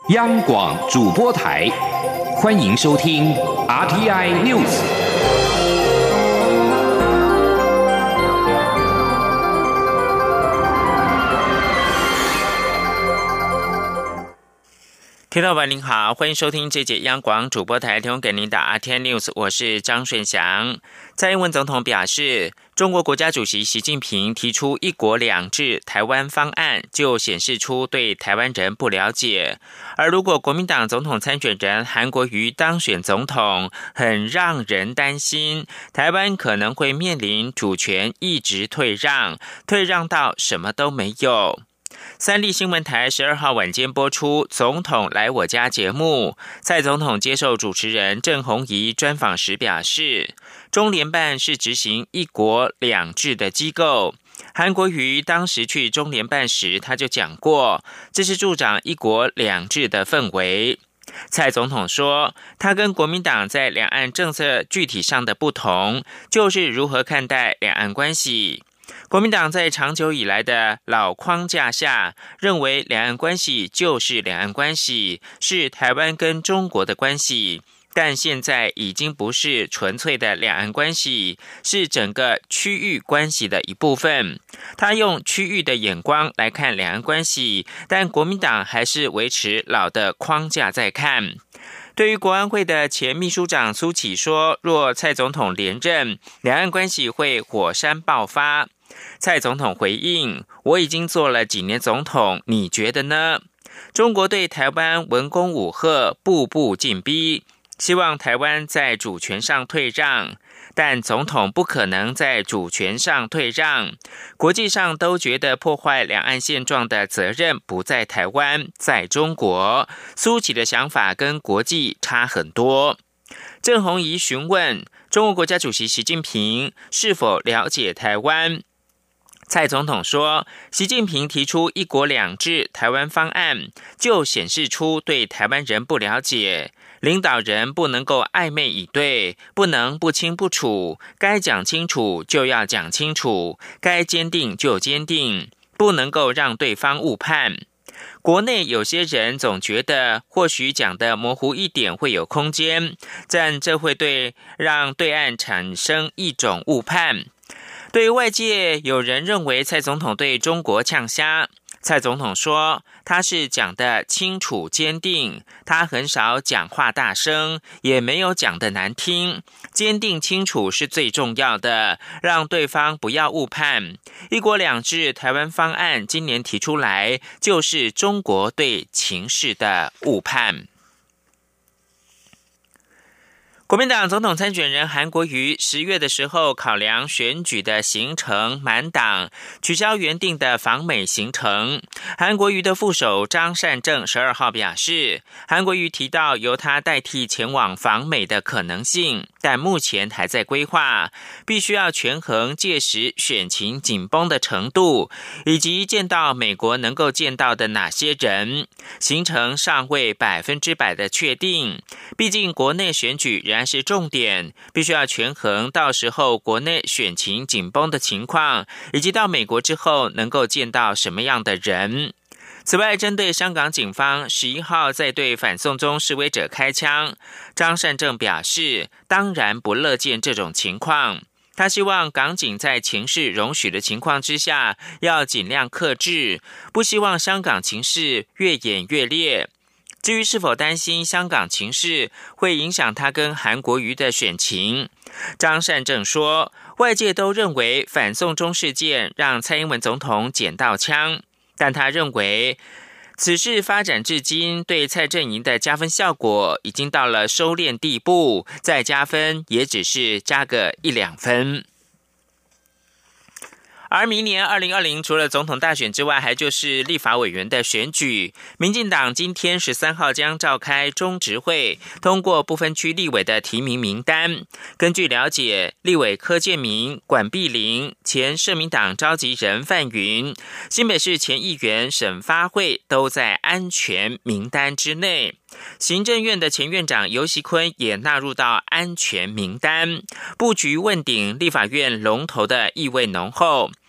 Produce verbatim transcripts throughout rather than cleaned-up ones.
央广主播台，欢迎收听 R T I News。 听众朋友您好，欢迎收听这节央广主播台提供给您的 R T I News， 我是张顺祥。蔡英文总统表示，中国国家主席习近平提出一国两制台湾方案，就显示出对台湾人不了解。而如果国民党总统参选人韩国瑜当选总统，很让人担心，台湾可能会面临主权一直退让，退让到什么都没有。三立新闻台十二号晚间播出《总统来我家》节目，蔡总统接受主持人郑红怡专访时表示，中联办是执行一国两制的机构。韩国瑜当时去中联办时，他就讲过，这是助长一国两制的氛围。蔡总统说，他跟国民党在两岸政策具体上的不同，就是如何看待两岸关系。国民党在长久以来的老框架下，认为两岸关系就是两岸关系，是台湾跟中国的关系，但现在已经不是纯粹的两岸关系，是整个区域关系的一部分。他用区域的眼光来看两岸关系，但国民党还是维持老的框架在看。对于国安会的前秘书长苏起说，若蔡总统连任，两岸关系会火山爆发。蔡总统回应，我已经做了几年总统，你觉得呢？中国对台湾文攻武吓，步步进逼，希望台湾在主权上退让，但总统不可能在主权上退让。国际上都觉得破坏两岸现状的责任不在台湾，在中国。苏起的想法跟国际差很多。郑红怡询问中国国家主席习近平是否了解台湾。蔡总统说，习近平提出一国两制台湾方案，就显示出对台湾人不了解。领导人不能够暧昧以对，不能不清不楚，该讲清楚就要讲清楚，该坚定就坚定，不能够让对方误判。国内有些人总觉得或许讲的模糊一点会有空间，但这会对让对岸产生一种误判。对于外界有人认为蔡总统对中国呛虾，蔡总统说他是讲得清楚坚定，他很少讲话大声，也没有讲得难听，坚定清楚是最重要的，让对方不要误判。一国两制台湾方案今年提出来，就是中国对情势的误判。国民党总统参选人韩国瑜十月的时候，考量选举的行程满档，取消原定的访美行程。韩国瑜的副手张善政十二号表示，韩国瑜提到由他代替前往访美的可能性，但目前还在规划，必须要权衡届时选情紧绷的程度，以及见到美国能够见到的哪些人，行程尚未百分之百的确定。毕竟国内选举仍然是重点，必须要权衡到时候国内选情紧绷的情况，以及到美国之后能够见到什么样的人。此外，针对香港警方十一号在对反送中示威者开枪，张善政表示，当然不乐见这种情况。他希望港警在情势容许的情况之下，要尽量克制，不希望香港情势越演越烈。至于是否担心香港情势会影响他跟韩国瑜的选情，张善政说，外界都认为反送中事件让蔡英文总统捡到枪，但他认为此事发展至今，对蔡阵营的加分效果已经到了收敛地步，再加分也只是加个一两分。而明年二零二零除了总统大选之外，还就是立法委员的选举。民进党今天十三号将召开中执会，通过不分区立委的提名名单。根据了解，立委柯建铭、管碧玲、前社民党召集人范云、新北市前议员沈发慧都在安全名单之内。行政院的前院长游锡堃也纳入到安全名单，布局问鼎立法院龙头的意味浓厚。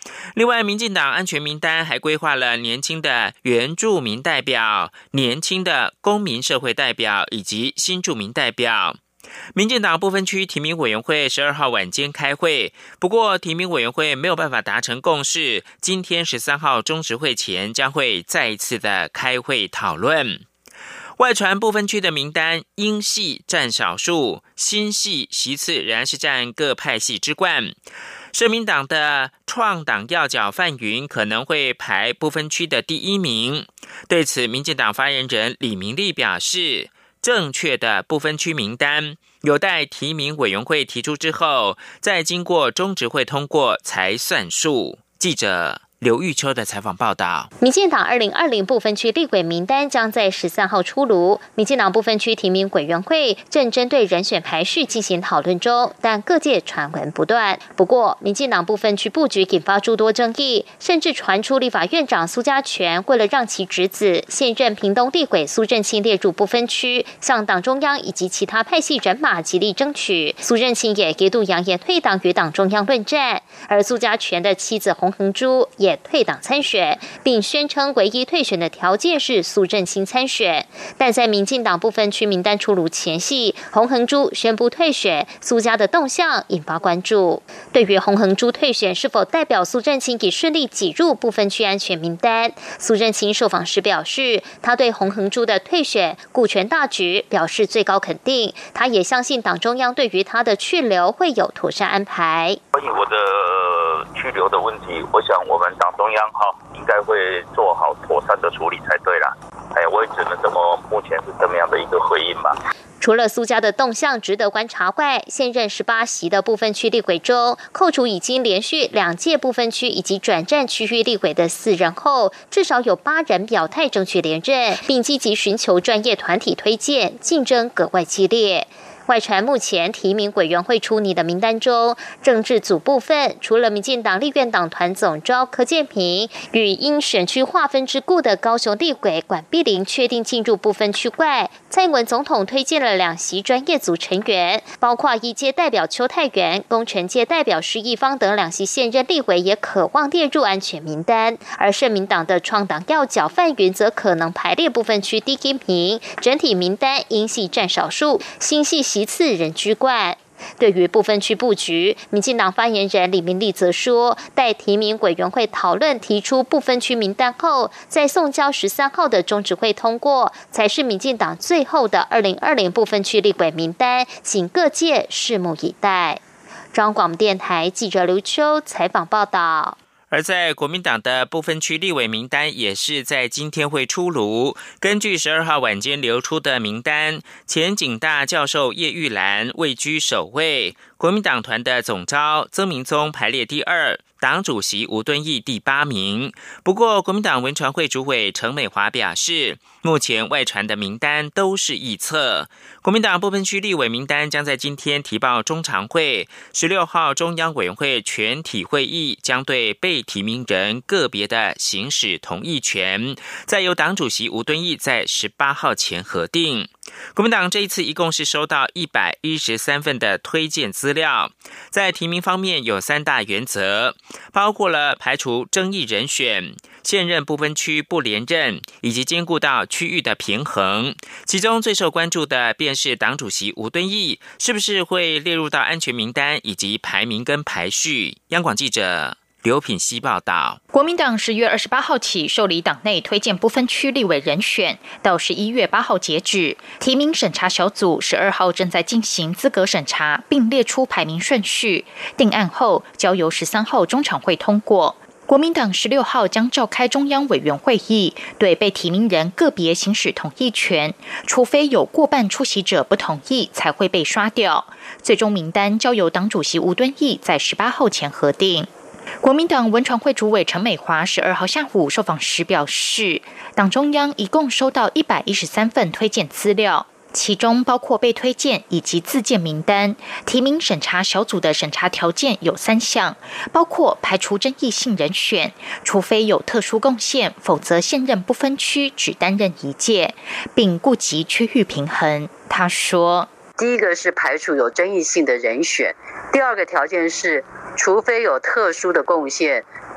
另外，民进党安全名单还规划了年轻的原住民代表、年轻的公民社会代表以及新住民代表。民进党不分区提名委员会十二号晚间开会，不过提名委员会没有办法达成共识，今天十三号中执会前将会再一次的开会讨论。外传不分区的名单，英系占少数，新系席次仍然是占各派系之冠。社民党的创党要角范云可能会排不分区的第一名。对此，民进党发言人李明利表示，正确的不分区名单有待提名委员会提出之后，再经过中执会通过才算数。记者刘玉秋的采访报道。 民进党二零二零不分区立委名单将在十三号出炉，民进党不分区提名委员会正针对人选排序进行讨论中，但各界传闻不断。不过，民进党不分区布局引发诸多争议，甚至传出立法院长苏家全为了让其侄子现任屏东立委苏震清列入不分区，向党中央以及其他派系人马极力争取。苏震清也一度扬言退党与党中央论战，而苏家全的妻子洪恒珠也也退党参选，并宣称唯一退选的条件是苏震清参选。但在民进党不分区名单出炉前夕，洪恒珠宣布退选，苏家的动向引发关注。对于洪恒珠退选是否代表苏震清已顺利挤入不分区安全名单，苏震清受访时表示，他对洪恒珠的退选顾全大局表示最高肯定，他也相信党中央对于他的去留会有妥善安排。 关于我的去留的问题，我想我们党中央哈应该会做好妥善的处理才对啦。哎，我也只能这么目前是这么样的一个回应吧。 除了苏家的动向值得观察外，现任十八席的不分区立委中，扣除已经连续两届不分区以及转战区域立委的四人后，至少有八人表态争取连任，并积极寻求专业团体推荐，竞争格外激烈。外传目前提名委员会出拟的名单中，政治组部分除了民进党立院党团总召柯建平与因选区划分之故的高雄立委管碧玲确定进入不分区外，蔡英文总统推荐了两席专业组成员，包括一届代表邱泰源、工程界代表施一方等两席现任立委也可望列入安全名单，而社民党的创党要角范云则可能排列不分区第一名，整体名单英系占少数，新系席次人居冠。对于不分区布局，民进党发言人李明利则说，待提名委员会讨论提出不分区名单后，在送交十三号的中执会通过，才是民进党最后的二零二零不分区立委名单，请各界拭目以待。中央广播电台记者刘秋采访报道。 而在国民党的不分区立委名单也是在今天会出炉。根据十二号晚间流出的名单，前警大教授叶玉兰位居首位，国民党团的总召曾明宗排列第二，党主席吴敦义第八名。不过，国民党文传会主委陈美华表示，目前外传的名单都是臆测。国民党不分区立委名单将在今天提报中常会，十六号中央委员会全体会议将对被提名人个别的行使同意权，再由党主席吴敦义在十八号前核定。国民党这一次一共是收到一百一十三份的推荐资料，在提名方面有三大原则，包括了排除争议人选、现任不分区不连任，以及兼顾到区域的平衡。其中最受关注的便是党主席吴敦义是不是会列入到安全名单，以及排名跟排序。央广记者刘品希报道。 国民党十月二十八号起受理党内推荐不分区立委人选，到十一月八号截止。提名审查小组十二号正在进行资格审查，并列出排名顺序，定案后交由十三号中常会通过。国民党十六号将召开中央委员会议，对被提名人个别行使同意权，除非有过半出席者不同意，才会被刷掉。最终名单交由党主席吴敦义在十八号前核定。国民党文传会主委陈美华十二号下午受访时表示，党中央一共收到一百一十三份推荐资料，其中包括被推荐以及自荐名单。提名审查小组的审查条件有三项，包括排除争议性人选，除非有特殊贡献，否则现任不分区只担任一届，并顾及区域平衡。他说， 第一个是排除有争议性的人选，第二个条件是除非有特殊的贡献，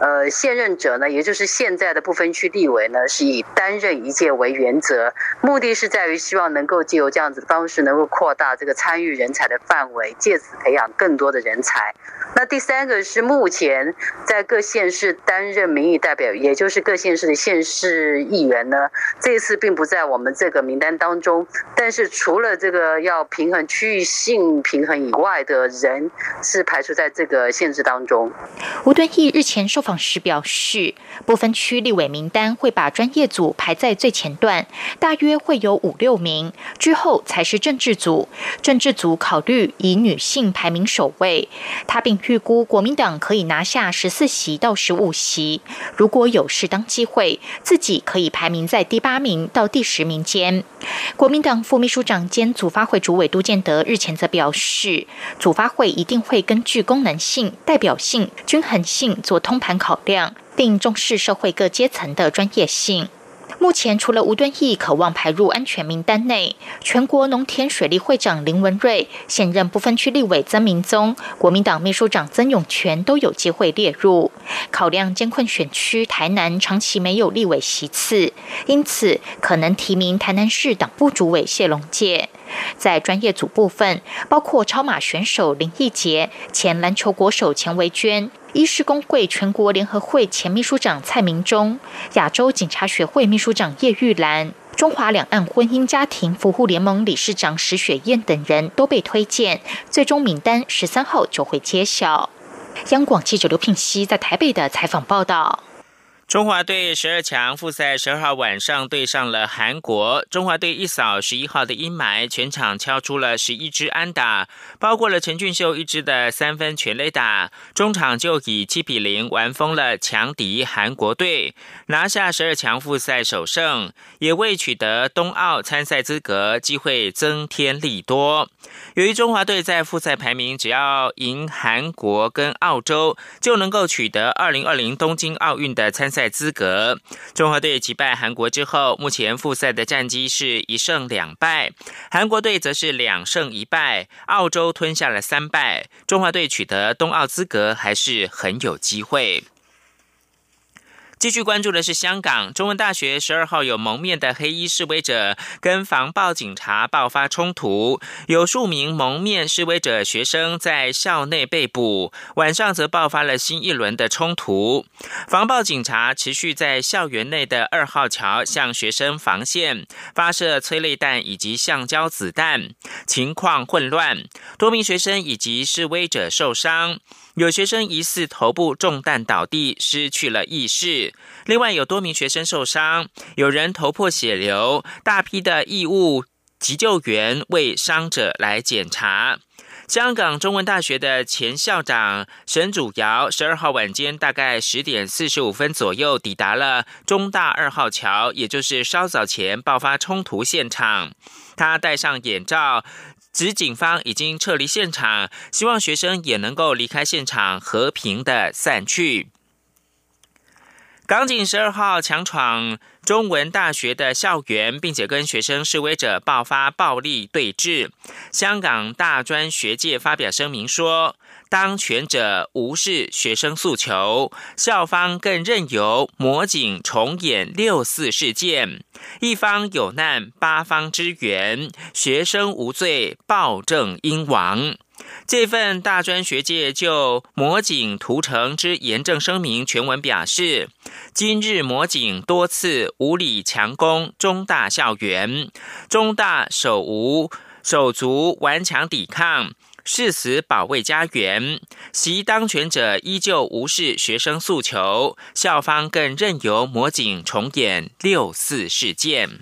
呃，现任者呢，也就是现在的不分区立委呢，是以担任一届为原则，目的是在于希望能够借由这样子的方式，能够扩大这个参与人才的范围，借此培养更多的人才。那第三个是目前在各县市担任民意代表，也就是各县市的县市议员呢，这一次并不在我们这个名单当中，但是除了这个要平衡区域性平衡以外的人，是排除在这个限制当中。 吴敦义日前受访时表示，不分区立委名单会把专业组排在最前段，大约会有五六名，之后才是政治组。政治组考虑以女性排名首位。他并预估国民党可以拿下十四席到十五席，如果有适当机会，自己可以排名在第八名到第十名间。国民党副秘书长兼组发会主委杜建德日前则表示，组发会一定会根据功能性、代表性、均衡性做通盘考量，并重视社会各阶层的专业性。目前除了吴敦义渴望排入安全名单内，全国农田水利会长林文瑞、现任不分区立委曾明宗、国民党秘书长曾永权都有机会列入。考量艰困选区台南长期没有立委席次，因此可能提名台南市党部主委谢龙介。在专业组部分，包括超马选手林义杰、前篮球国手钱维娟、医师公会全国联合会前秘书长蔡明忠、亚洲警察学会秘书长叶玉兰、中华两岸婚姻家庭扶护联盟理事长石雪燕等人都被推荐，最终名单十三号就会揭晓。央广记者刘聘熙在台北的采访报道。 中华队十二强复赛十二号晚上对上了韩国，中华队一扫十一号的阴霾，全场敲出了十一支安打，包括了陈俊秀一支的三分全垒打，中场就以七比零完封了强敌韩国队，拿下十二强复赛首胜，也为取得冬奥参赛资格机会增添利多。由于中华队在复赛排名只要赢韩国跟澳洲，就能够取得二零二零东京奥运的参赛资格。中华队击败韩国之后，目前复赛的战绩是一胜两败，韩国队则是两胜一败，澳洲吞下了三败，中华队取得冬奥资格还是很有机会。继续关注的是香港中文大学十二号有蒙面的黑衣示威者跟防暴警察爆发冲突，有数名蒙面示威者学生在校内被捕，晚上则爆发了新一轮的冲突。防暴警察持续在校园内的二号桥向学生防线发射催泪弹以及橡胶子弹，情况混乱，多名学生以及示威者受伤。有学生疑似头部中弹倒地，失去了意识。另外有多名学生受伤，有人头破血流，大批的义务急救员为伤者来检查。香港中文大学的前校长沈祖尧十二号晚间大概十点四十五分左右抵达了中大二号桥，也就是稍早前爆发冲突现场。他戴上眼罩，指警方已经撤离现场，希望学生也能够离开现场，和平的散去。港警十二号强闯中文大学的校园，并且跟学生示威者爆发暴力对峙。香港大专学界发表声明说，当权者无视学生诉求，校方更任由魔警重演六四事件，一方有难八方支援，学生无罪暴政应亡。这份大专学界就魔警屠城之严正声明全文表示，今日魔警多次无理强攻中大校园，中大手无手足顽强抵抗，誓死保卫家园，袭当权者依旧无视学生诉求，校方更任由魔警重演六四事件。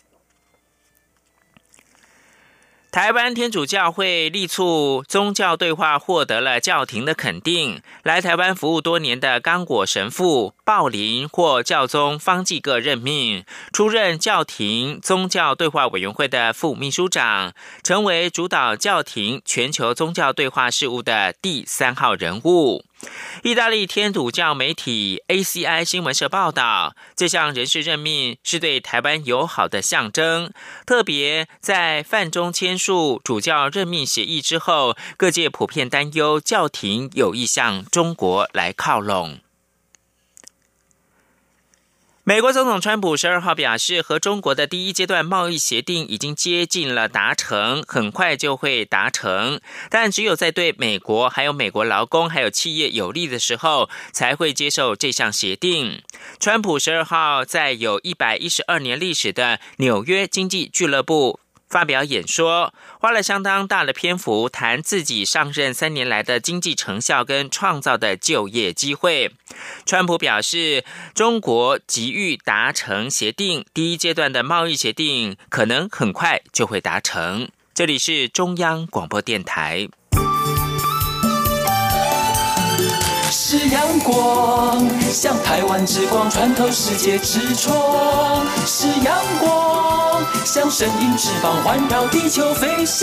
台湾天主教会力促宗教对话获得了教廷的肯定，来台湾服务多年的刚果神父鲍林获教宗方济各任命，出任教廷宗教对话委员会的副秘书长，成为主导教廷全球宗教对话事务的第三号人物。意大利天主教媒体 A C I 新闻社报道，这项人事任命是对台湾友好的象征，特别在梵中签署主教任命协议之后，各界普遍担忧教廷有意向中国来靠拢。 美国总统川普十二号表示，和中国的第一阶段贸易协定已经接近了达成，很快就会达成，但只有在对美国还有美国劳工还有企业有利的时候，才会接受这项协定。川普十二号在有一百一十二年历史的纽约经济俱乐部发表演说，花了相当大的篇幅谈自己上任三年来的经济成效跟创造的就业机会。川普表示，中国急于达成协定，第一阶段的贸易协定可能很快就会达成。这里是中央广播电台。 是阳光，像台湾之光穿透世界之窗；是阳光，像神鹰翅膀环绕地球飞翔。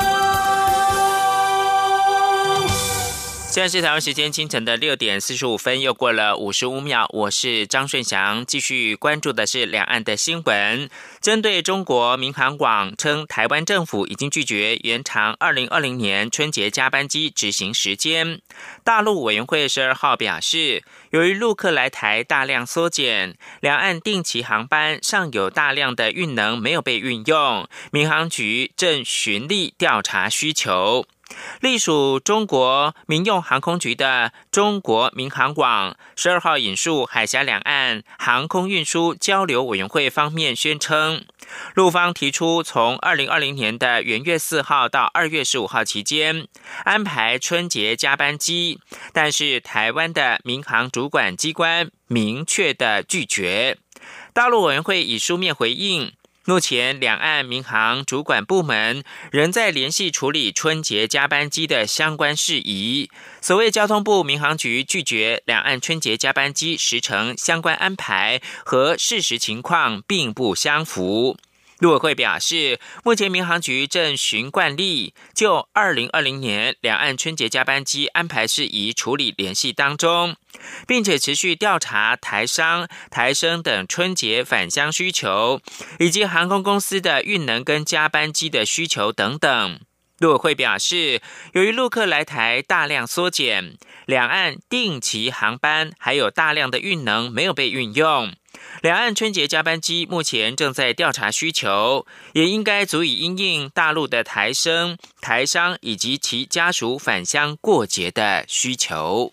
现在是台湾时间清晨的六点四十五分，又过了五十五秒。我是张顺祥，继续关注的是两岸的新闻。针对中国民航网称，台湾政府已经拒绝延长二零二零年春节加班机执行时间。大陆委员会十二号表示，由于陆客来台大量缩减，两岸定期航班尚有大量的运能没有被运用，民航局正循例调查需求。隶属中国民用航空局的中国民航网十二号引述海峡两岸航空运输交流委员会方面宣称，陆方提出从二零二零年的元月四号到二月十五号期间安排春节加班机，但是台湾的民航主管机关明确的拒绝。大陆委员会以书面回应，目前两岸民航主管部门仍在联系处理春节加班机的相关事宜。所谓交通部民航局拒绝两岸春节加班机时程相关安排，和事实情况并不相符。陆委会表示，目前民航局正循惯例，就二零二零年两岸春节加班机安排事宜处理联系当中，并且持续调查台商、台生等春节返乡需求，以及航空公司的运能跟加班机的需求等等。陆委会表示，由于陆客来台大量缩减，两岸定期航班还有大量的运能没有被运用，两岸春节加班机目前正在调查需求，也应该足以因应大陆的台生、台商以及其家属返乡过节的需求。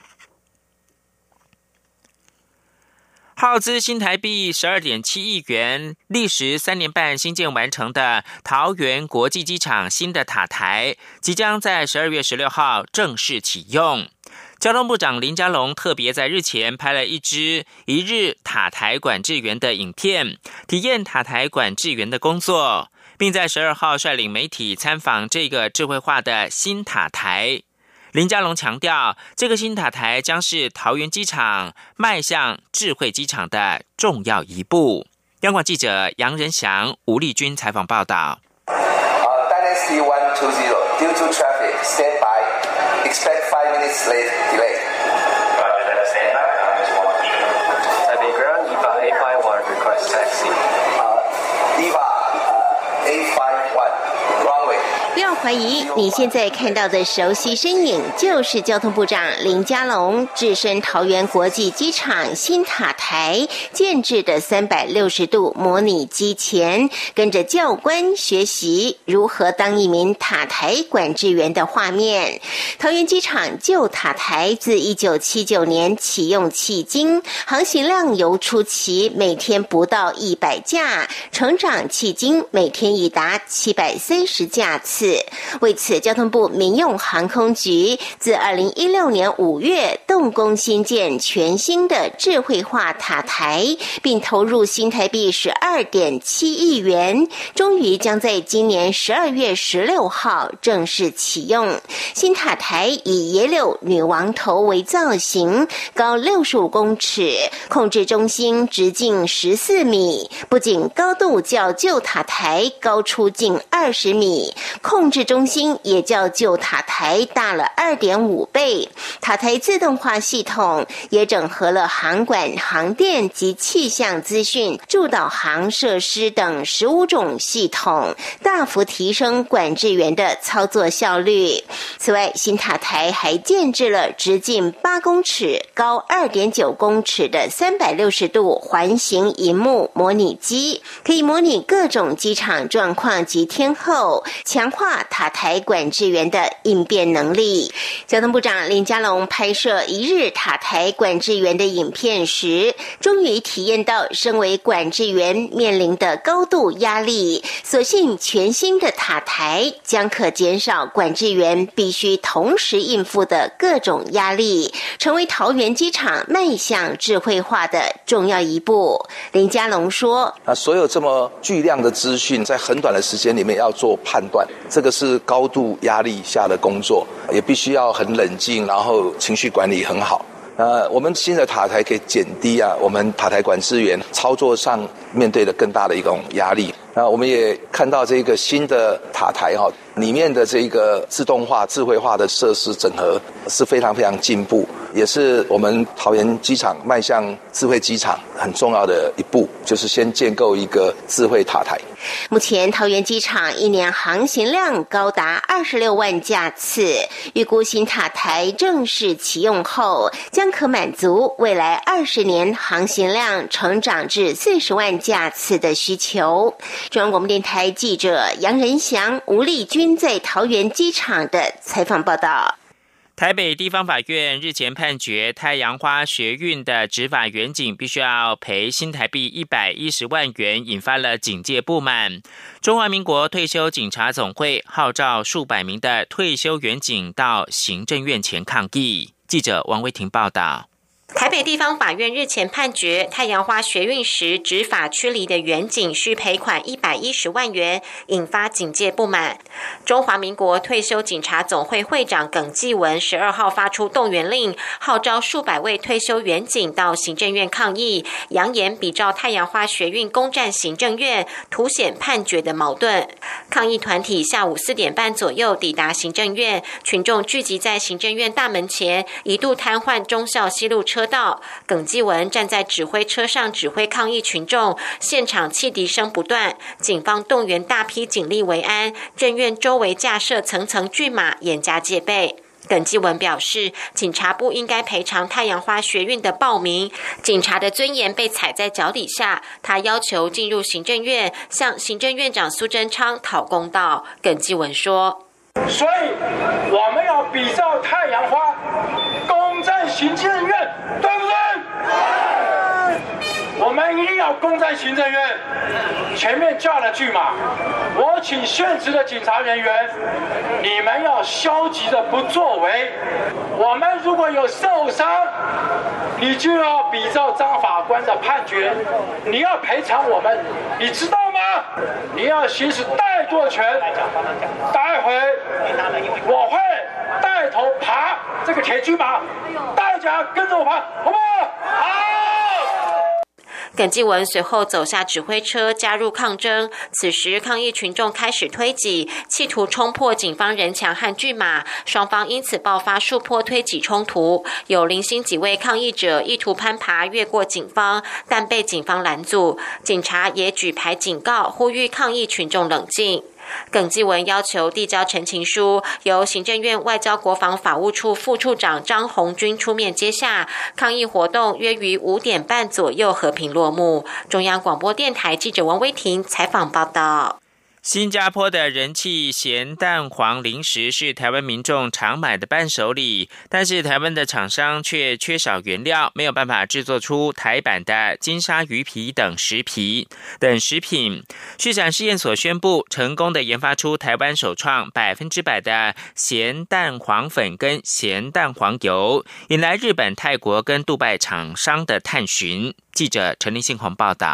耗资新台币 十二点七亿元，历时三年半新建完成的桃园国际机场新的塔台，即将在十二月十六号正式启用。交通部长林佳龙特别在日前拍了一支一日塔台管制员的影片，体验塔台管制员的工作，并在十二号率领媒体参访这个智慧化的新塔台。林佳龙强调，这个新塔台将是桃园机场迈向智慧机场的重要一步。央广记者杨仁祥、吴丽君采访报道。 Dynasty one two zero due to traffic stand by expect five minutes late delay. Roger that stand by. Taipei ground E V A A five one request taxi. Uh, E V A A five one wrong way. 不要怀疑，你现在看到的熟悉身影就是交通部长林佳龙置身桃园国际机场新塔台建制的三百六十度模拟机前，跟着教官学习如何当一名塔台管制员的画面。桃园机场旧塔台自一九七九年启用迄今，航行量由初期每天不到一百架，成长迄今每天已达七百三十架次。为此，交通部民用航空局自二零一六年五月动工新建全新的智慧化塔台，并投入新台币十二点七亿元，终于将在今年十二月十六号正式启用。新塔台以野柳女王头为造型，高六十五公尺，控制中心直径十四米，不仅高度较旧塔台高出近二十米， 控制中心也较旧塔台大了 二点五倍。塔台自动化系统也整合了航管、航电及气象资讯、助导航设施等十五种系统，大幅提升管制员的操作效率。此外，新塔台还建置了直径八公尺、高 二点九公尺的三百六十度环形萤幕模拟机，可以模拟各种机场状况及天候，强化塔台管制员的应变能力。交通部长林佳龙拍摄一日塔台管制员的影片时，终于体验到身为管制员面临的高度压力。所幸全新的塔台将可减少管制员必须同时应付的各种压力，成为桃园机场迈向智慧化的重要一步。林佳龙说， 那所有这么巨量的资讯在很短的时间里面要做判断，这个是高度压力下的工作，也必须要很冷静，然后情绪管理很好。呃，我们新的塔台可以减低啊，我们塔台管制员操作上面对的更大的一种压力。那我们也看到这个新的塔台哈、哦，里面的这个自动化、智慧化的设施整合是非常非常进步，也是我们桃园机场迈向智慧机场很重要的一步，就是先建构一个智慧塔台。 目前桃园机场一年航行量高达二十六万架次，预估新塔台正式启用后，将可满足未来二十年航行量成长至四十万架次的需求。中央广播电台记者杨仁祥、吴丽君在桃园机场的采访报道。 台北地方法院日前判决太阳花学运的执法员警必须要赔新台币一百一十万元，引发了警界不满。中华民国退休警察总会号召数百名的退休员警到行政院前抗议。记者王威婷报道。 台北地方法院日前判决，太阳花学运时执法驱离的员警需赔款一百一十万元，引发警界不满。中华民国退休警察总会会长耿继文十二号发出动员令，号召数百位退休员警到行政院抗议，扬言比照太阳花学运攻占行政院，凸显判决的矛盾。抗议团体下午四点半左右抵达行政院，群众聚集在行政院大门前，一度瘫痪忠孝西路车道。耿继文站在指挥车上指挥抗议群众，现场汽笛声不断，警方动员大批警力维安，政院周围架设层层巨马，严加戒备。耿继文表示，警察不应该赔偿太阳花学运的暴民，警察的尊严被踩在脚底下。他要求进入行政院，向行政院长苏贞昌讨公道。耿继文说， 所以我们要比照太阳花攻占行政院，对不对？我们一定要攻占行政院。前面架了巨马，我请现职的警察人员，你们要消极的不作为。我们如果有受伤，你就要比照张法官的判决，你要赔偿我们，你知道吗？你要行使带舵权。待会我会带头爬这个铁巨马，大家跟着我爬，好不好？好。 耿继文随后走下指挥车，加入抗争。此时，抗议群众开始推挤，企图冲破警方人墙和巨马，双方因此爆发数波推挤冲突。有零星几位抗议者意图攀爬越过警方，但被警方拦阻。警察也举牌警告，呼吁抗议群众冷静。耿继文要求递交陈情书，由行政院外交国防法务处副处长张红军出面接下。抗议活动约于五点半左右和平落幕。中央广播电台记者王威婷采访报道。 新加坡的人气咸蛋黄零食是台湾民众常买的伴手礼，但是台湾的厂商却缺少原料，没有办法制作出台版的金沙鱼皮等食皮等食品。畜产试验所宣布，成功的研发出台湾首创百分之百的咸蛋黄粉跟咸蛋黄油，引来日本、泰国跟杜拜厂商的探寻。记者陈立信宏报道。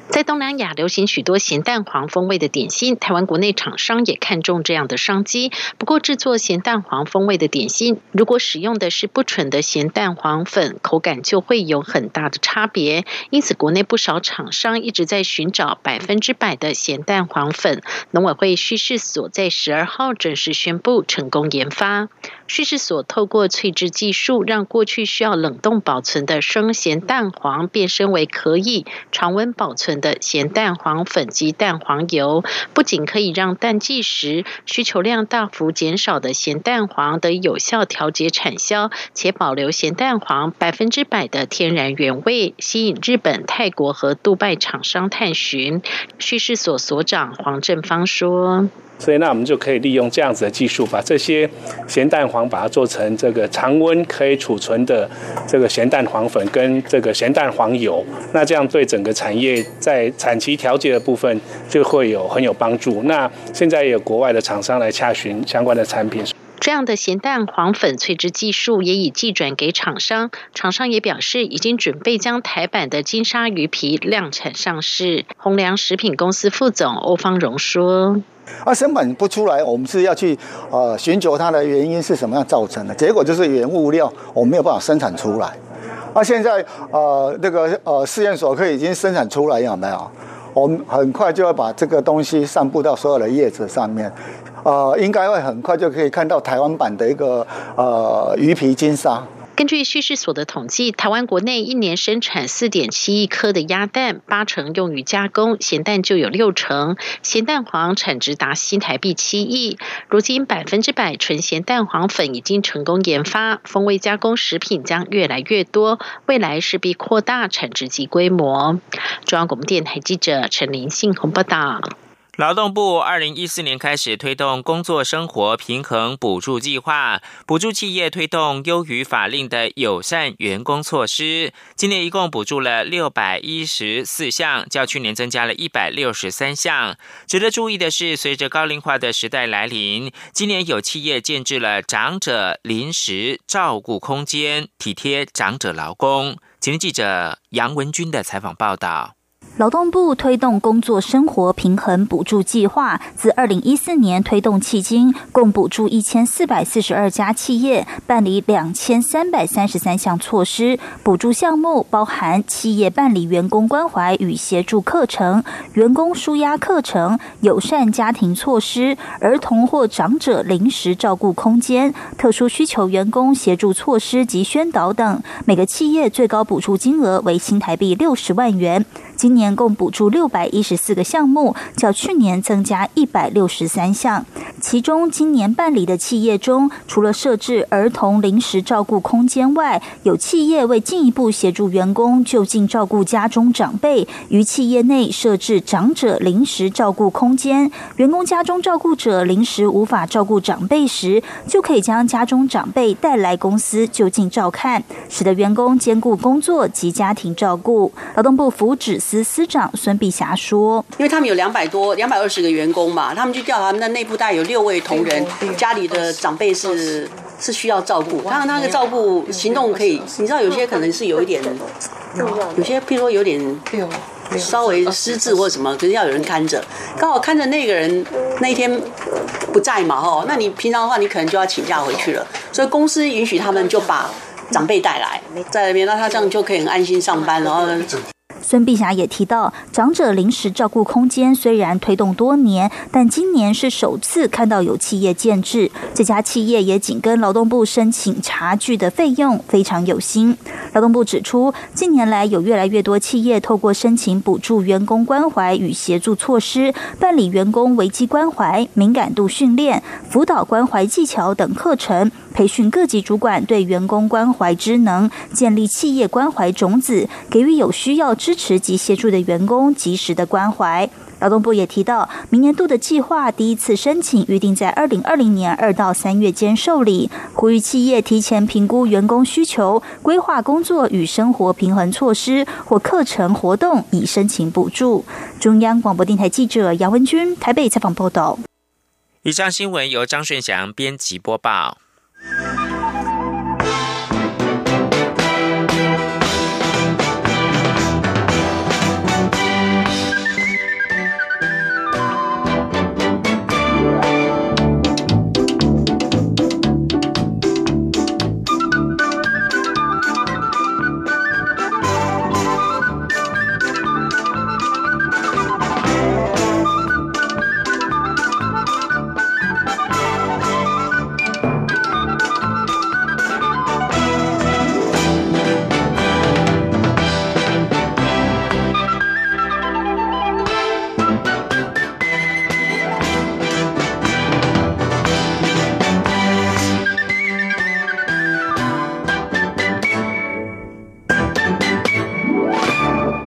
在东南亚流行许多咸蛋黄风味的点心，台湾国内厂商也看中这样的商机。不过制作咸蛋黄风味的点心，如果使用的是不纯的咸蛋黄粉，口感就会有很大的差别。因此国内不少厂商一直在寻找百分之百的咸蛋黄粉。农委会畜试所在十二号正式宣布成功研发。畜试所透过萃制技术，让过去需要冷冻保存的生咸蛋黄变身为可以常温保存的咸蛋黄粉及蛋黄油，不仅可以让淡季时需求量大幅减少的咸蛋黄得以有效调节产销，且保留咸蛋黄百分之百的天然原味，吸引日本、泰国和杜拜厂商探寻。畜试所所长黄正芳说， 所以那我们就可以利用这样子的技术，把这些咸蛋黄把它做成这个常温可以储存的这个咸蛋黄粉跟这个咸蛋黄油，那这样对整个产业在产期调节的部分就会有很有帮助。那现在也有国外的厂商来洽询相关的产品。 这样的咸蛋黄粉萃制技术也已寄转给厂商，厂商也表示已经准备将台版的金沙鱼皮量产上市。宏良食品公司副总欧方荣说， 啊，生产不出来，我们是要去呃寻求它的原因是什么样造成的，结果就是原物料我们没有办法生产出来。啊，现在呃那个呃试验所可以已经生产出来，有没有？我们很快就要把这个东西散布到所有的叶子上面，呃，应该会很快就可以看到台湾版的一个呃鱼皮金沙。 根据畜试所的统计，台湾国内一年生产 四点七亿颗的鸭蛋，八成用于加工，咸蛋就有六成，咸蛋黄产值达新台币七亿。如今百分之百纯咸蛋黄粉已经成功研发，风味加工食品将越来越多，未来势必扩大产值及规模。中央广播电台记者陈琳信鸿报道。 劳动部二零一四年开始推动工作生活平衡补助计划，补助企业推动优于法令的友善员工措施。今年一共补助了六百一十四项，较去年增加了一百六十三项。值得注意的是，随着高龄化的时代来临，今年有企业建置了长者临时照顾空间，体贴长者劳工。今天记者杨文君的采访报道。 劳动部推动工作生活平衡补助计划，自二零一四年推动迄今，共补助一千四百四十二家企业办理两千三百三十三项措施。补助项目包含企业办理员工关怀与协助课程、员工纾压课程、友善家庭措施、儿童或长者临时照顾空间、特殊需求员工协助措施及宣导等。每个企业最高补助金额为新台币六十万元。今年共补助六百一十四个项目，较去年增加一百六十三项。其中，今年办理的企业中，除了设置儿童临时照顾空间外，有企业为进一步协助员工就近照顾家中长辈，于企业内设置长者临时照顾空间。员工家中照顾者临时无法照顾长辈时，就可以将家中长辈带来公司就近照看，使得员工兼顾工作及家庭照顾。劳动部福祉司司长孙碧霞说， 因为他们有两百多、两百二十个员工嘛，他们去调查，他们的内部大概有六位同仁，家里的长辈是是需要照顾，当然那个照顾行动可以，你知道有些可能是有一点，有些譬如说有点稍微失智或什么，可是要有人看着，刚好看着那个人那一天不在嘛，吼，那你平常的话你可能就要请假回去了，所以公司允许他们就把长辈带来在那边，那他这样就可以很安心上班，然后孙碧霞也提到，长者临时照顾空间虽然推动多年，但今年是首次看到有企业建置。这家企业也紧跟劳动部申请茶具的费用，非常有心。劳动部指出，近年来有越来越多企业透过申请补助员工关怀与协助措施，办理员工危机关怀、敏感度训练、辅导关怀技巧等课程，培训各级主管对员工关怀知能，建立企业关怀种子，给予有需要支持及协助的员工及时的关怀。劳动部也提到，明年度的计划第一次申请预定在二零二零年二到三月间受理，呼吁企业提前评估员工需求，规划工作与生活平衡措施或课程活动，以申请补助。中央广播电台记者杨文君台北采访报道。 以上新闻由张顺祥编辑播报。